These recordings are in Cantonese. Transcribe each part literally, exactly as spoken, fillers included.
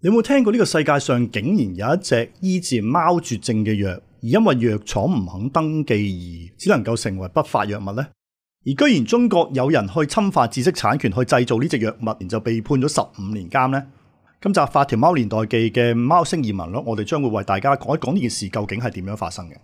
你有冇聽過呢個世界上竟然有一隻醫治貓絕症嘅藥，而因為藥廠唔肯登記而只能夠成為不法藥物呢？而居然中國有人去侵犯知識產權去製造呢隻藥物，然就被判咗十五年監呢？今集《發條貓年代記》嘅貓星異聞錄，我哋將會為大家講一講呢件事究竟係點樣發生嘅。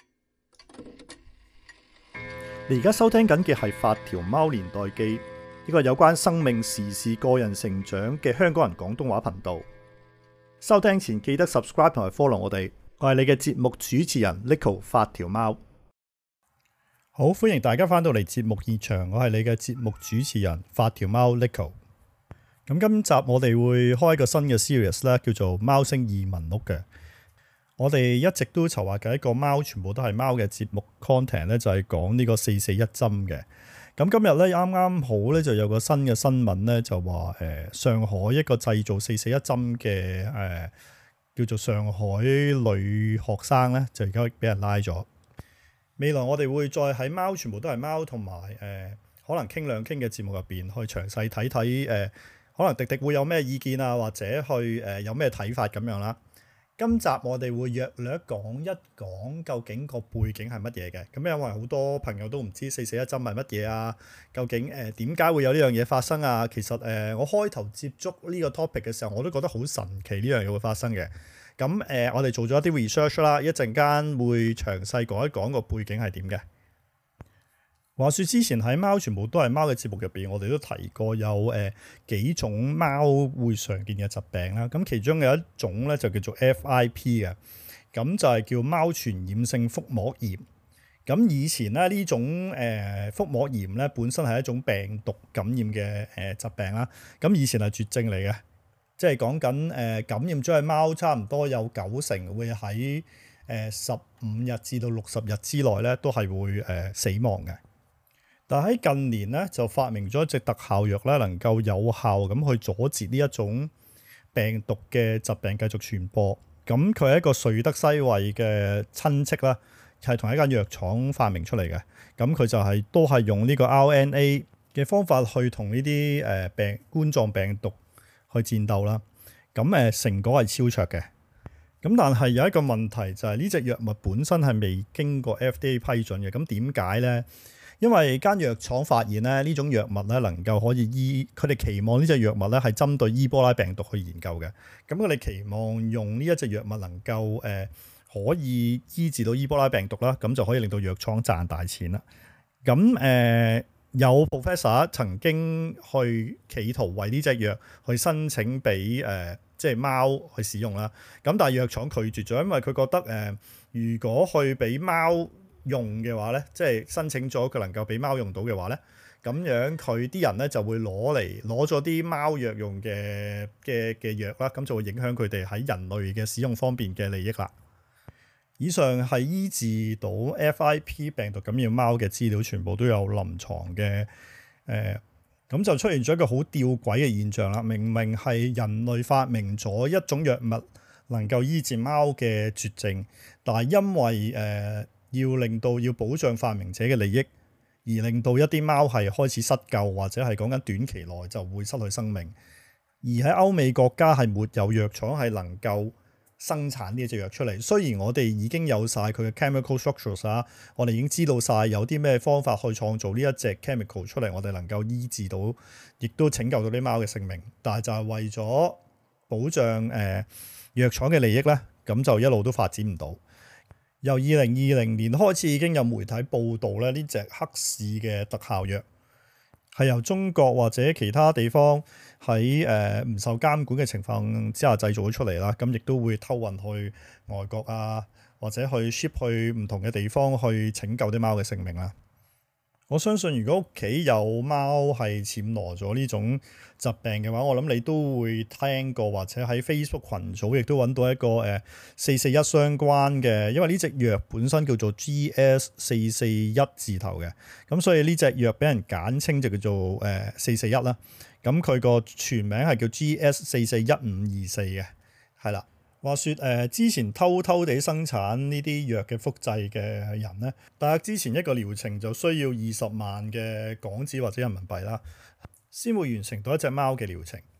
你而家收聽緊嘅係《發條貓年代記》，呢個有關生命、時事、個人成長嘅香港人廣東話頻道。收聽前記得 subscribe 同埋 follow 我哋，我係你嘅節目主持人 Neko 發條貓。好，歡迎大家翻到嚟節目現場，我係你嘅節目主持人發條貓 Neko。咁今集我哋會開一個新嘅 series 咧，叫做貓星異聞錄嘅。我哋一直都籌劃緊一個貓全部都係貓嘅節目 content 咧，就係講呢個四四一針嘅。咁今日咧啱啱好咧就有個新嘅新聞咧，就話誒、呃、上海一個製造四四一針嘅誒叫做上海女學生咧，就而家俾人拉咗。未來我哋會再喺貓全部都係貓同埋誒可能傾兩傾嘅節目入邊去詳細睇睇誒，可能迪迪會有咩意見啊，或者去誒、呃、有咩睇法咁樣啦。今集我哋會約略講一講究竟個背景係乜嘢嘅，咁因為好多朋友都唔知四四一針係乜嘢啊，究竟誒點解會有呢樣嘢發生啊？其實誒、呃、我開頭接觸呢個 topic 嘅時候，我都覺得好神奇呢樣嘢會發生嘅。咁誒、呃、我哋做咗一啲 research 啦，一陣間會詳細講一講個背景係點嘅。話說之前喺貓全部都係貓嘅節目入邊，我哋都提過有誒、呃、幾種貓會常見嘅疾病啦。咁其中有一種咧就叫做 F I P 嘅，咁就係叫貓傳染性腹膜炎。咁以前咧呢種誒、呃、腹膜炎咧本身係一種病毒感染嘅誒、呃、疾病啦。咁以前係絕症嚟嘅，即係講緊誒感染咗嘅貓差唔多有九成會喺誒十五日至到六十日之內咧都係會誒、呃、死亡嘅。但喺近年咧，就發明咗一隻特效藥咧，能夠有效咁去阻截呢一種病毒嘅疾病繼續傳播。咁佢係一個瑞德西韋嘅親戚啦，係同一間藥廠發明出嚟嘅。咁佢就係、是、都係用呢個 R N A 嘅方法去同呢啲誒病冠狀病毒去戰鬥啦。咁誒成果係超卓嘅。咁但係有一個問題就係呢隻藥物本身係未經過 F D A 批准嘅。咁點解咧？因為間藥廠發現咧，呢種藥物咧能夠可以醫，佢哋期望呢隻藥物咧係針對伊波拉病毒去研究嘅。咁佢哋期望用呢一隻藥物能夠誒、呃、可以醫治到伊波拉病毒啦，咁就可以令到藥廠賺大錢啦。咁誒、呃、有 professor 曾經去企圖為呢隻藥去申請俾誒、呃、即係貓去使用啦。咁但係藥廠拒絕咗，因為佢覺得誒、呃、如果去俾貓用嘅話咧，即係申請咗佢能夠俾貓用到嘅話咧，咁樣佢啲人咧就會攞嚟攞咗啲貓藥用嘅嘅嘅藥啦，咁就會影響佢哋喺人類嘅使用方面嘅利益啦。以上係醫治到 F I P 病毒感染貓嘅資料，全部都有臨床嘅誒，咁、呃、就出現咗一個好吊詭嘅現象啦。明明係人類發明咗一種藥物能夠醫治貓嘅絕症，但係因為誒，呃要令到要保障發明者嘅利益，而令到一啲貓係開始失救，或者係講緊短期內就會失去生命。而喺歐美國家係沒有藥廠係能夠生產呢隻藥出嚟。雖然我哋已經有晒佢嘅 chemical structures 啊，我哋已經知道晒有啲咩方法去創造呢一隻 chemical 出嚟，我哋能夠醫治到，亦都拯救到啲貓嘅性命。但係就係為咗保障誒、呃、藥廠嘅利益咧，咁就一路都發展唔到。由二零二零年開始已經有媒體報道咧，呢隻黑市嘅特效藥係由中國或者其他地方喺誒唔受監管嘅情況之下製造咗出嚟啦，咁亦都會偷運去外國啊，或者去 ship 去唔同嘅地方去拯救啲貓嘅性命啦。我相信如果屋企有貓係暹羅咗呢種疾病嘅話，我諗你都會聽過，或者喺 Facebook 群組亦都揾到一個誒四四一相關嘅，因為呢隻藥本身叫做 G S 四四一字頭嘅，咁所以呢隻藥俾人簡稱就叫做誒四四一啦。咁佢個全名係叫 G S 四四一五二四嘅，係啦。話說誒、呃，之前偷偷地生產呢啲藥嘅複製嘅人咧，大約之前一個療程就需要二十萬嘅港紙或者人民幣啦，先會完成到一隻貓嘅療程。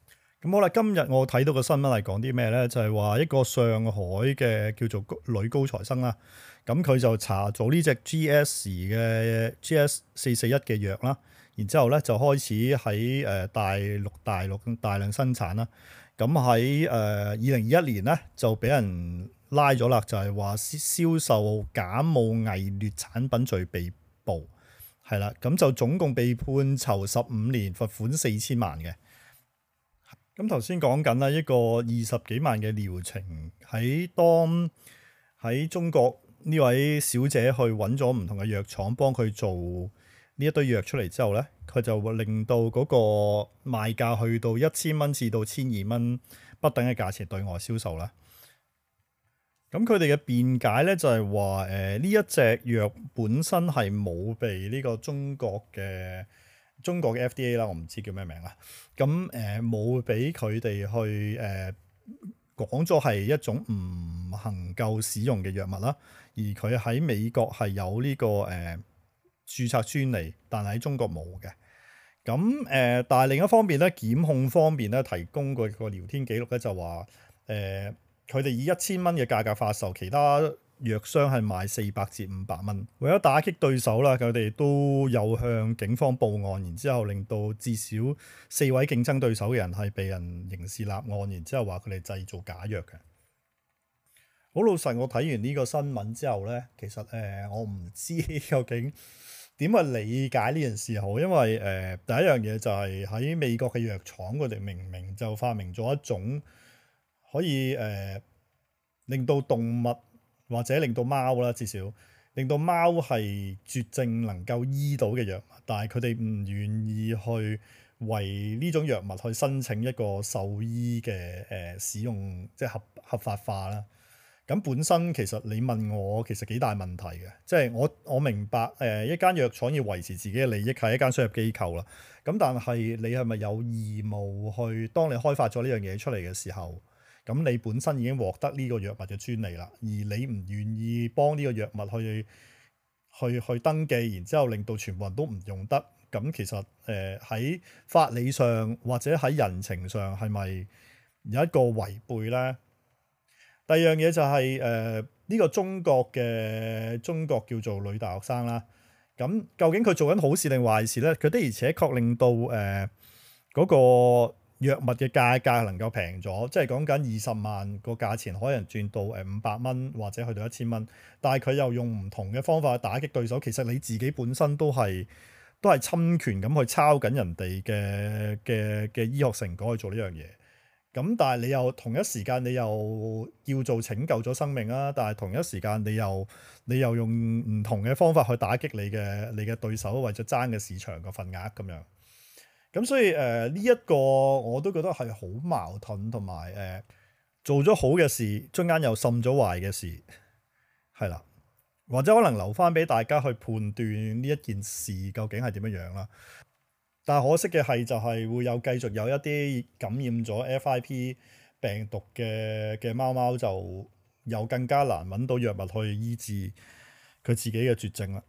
咁好啦，今日我睇到個新聞係講啲咩咧？就係話一個上海嘅叫做女高材生啦，咁佢就查咗呢隻 G S 嘅 G S 四四一嘅藥啦，然之後咧就開始喺誒大陸大陸大量生產啦。咁喺誒二零二一年咧就俾人拉咗啦，就係話銷售假冒偽劣產品罪被捕，係啦，咁就總共被判囚十五年，罰款四千萬嘅。咁頭先講緊啦，一個二十幾萬嘅療程，喺當喺中國呢位小姐去揾咗唔同嘅藥廠幫佢做呢一堆藥出嚟之後咧，佢就會令到嗰個賣價去到一千蚊至到千二蚊不等嘅價錢對外銷售啦。咁佢哋嘅辯解咧就係話，誒呢一隻藥本身係冇被呢個中國嘅。中國嘅 F D A 啦，我唔知叫咩名啦。咁誒冇俾佢哋去誒講咗係一種唔能夠使用嘅藥物啦。而佢喺美國係有呢、這個誒、呃、註冊專利，但係喺中國冇嘅。咁誒、呃，但係另一方面咧，檢控方面咧提供個個聊天記錄咧就話誒，佢哋以一千蚊嘅價格發售，其他藥商係賣四百至五百蚊，為咗打擊對手啦，佢哋都有向警方報案，然之後令到至少四位競爭對手嘅人係被人刑事立案，然之後話佢哋製造假藥嘅。好老實，我睇完呢個新聞之後咧，其實誒、呃、我唔知究竟點去理解呢件事好，因為誒、呃、第一樣嘢就係喺美國嘅藥廠，佢哋明明就發明咗一種可以誒、呃、令到動物。或者令到貓啦，至少令到貓係絕症能夠醫到嘅藥物，但係佢哋唔願意去為呢種藥物去申請一個獸醫嘅誒、呃、使用，即係合合法化啦。咁本身其實你問我，其實幾大問題嘅，即係我我明白誒、呃、一間藥廠要維持自己嘅利益係一間商業機構啦。咁但係你係咪有義務去當你開發咗呢樣嘢出嚟嘅時候？咁你本身已經獲得呢個藥物嘅專利啦，而你唔願意幫呢個藥物去去去登記，然之後令到全部人都唔用得，咁其實誒喺、呃、法理上或者喺人情上係咪有一個違背咧？第二樣嘢就係誒呢個中國嘅中國叫做女大學生啦，咁究竟佢做緊好事定壞事咧？佢的而且確令到誒嗰、呃那個藥物嘅價格能夠平咗，即係講緊二十萬個價錢可能轉到誒五百蚊或者去到一千蚊，但係佢又用唔同嘅方法去打擊對手。其實你自己本身都係都係侵權咁去抄緊人哋嘅嘅嘅醫學成果去做呢樣嘢。咁但係你又同一時間你又叫做拯救咗生命啊，但係同一時間你又你又用唔同嘅方法去打擊你嘅你嘅對手，為咗爭嘅市場個份額咁樣。咁所以誒呢一個我都覺得係好矛盾，同埋誒做咗好嘅事，中間又滲咗壞嘅事，係啦，或者可能留翻俾大家去判斷呢一件事究竟係點樣樣啦。但係可惜嘅係就係會有繼續有一啲感染咗 F I P 病毒嘅嘅貓貓，就又更加難揾到藥物去醫治佢自己嘅絕症啦。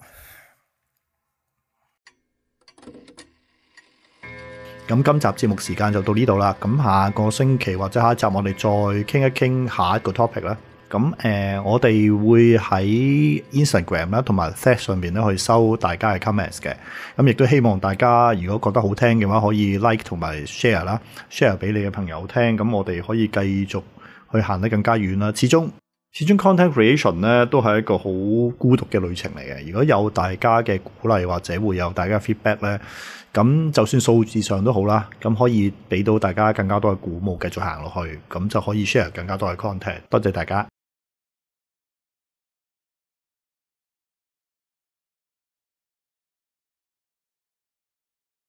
咁今集節目時間就到呢度啦。咁下個星期或者下一集我哋再傾一傾下一個 topic 啦。咁誒、呃，我哋會喺 Instagram 啦同埋 Threads 上面咧去收大家嘅 comments 嘅。咁亦都希望大家如果覺得好聽嘅話，可以 like 同埋 share 啦 ，share 俾你嘅朋友聽。咁我哋可以繼續去行得更加遠啦。始終始終 content creation 咧都係一個好孤獨嘅旅程嚟嘅。如果有大家嘅鼓勵或者會有大家嘅 feedback 咧，咁就算數字上都好啦，咁可以俾到大家更加多嘅鼓舞，繼續行落去，咁就可以 share 更加多嘅 content。多謝大家。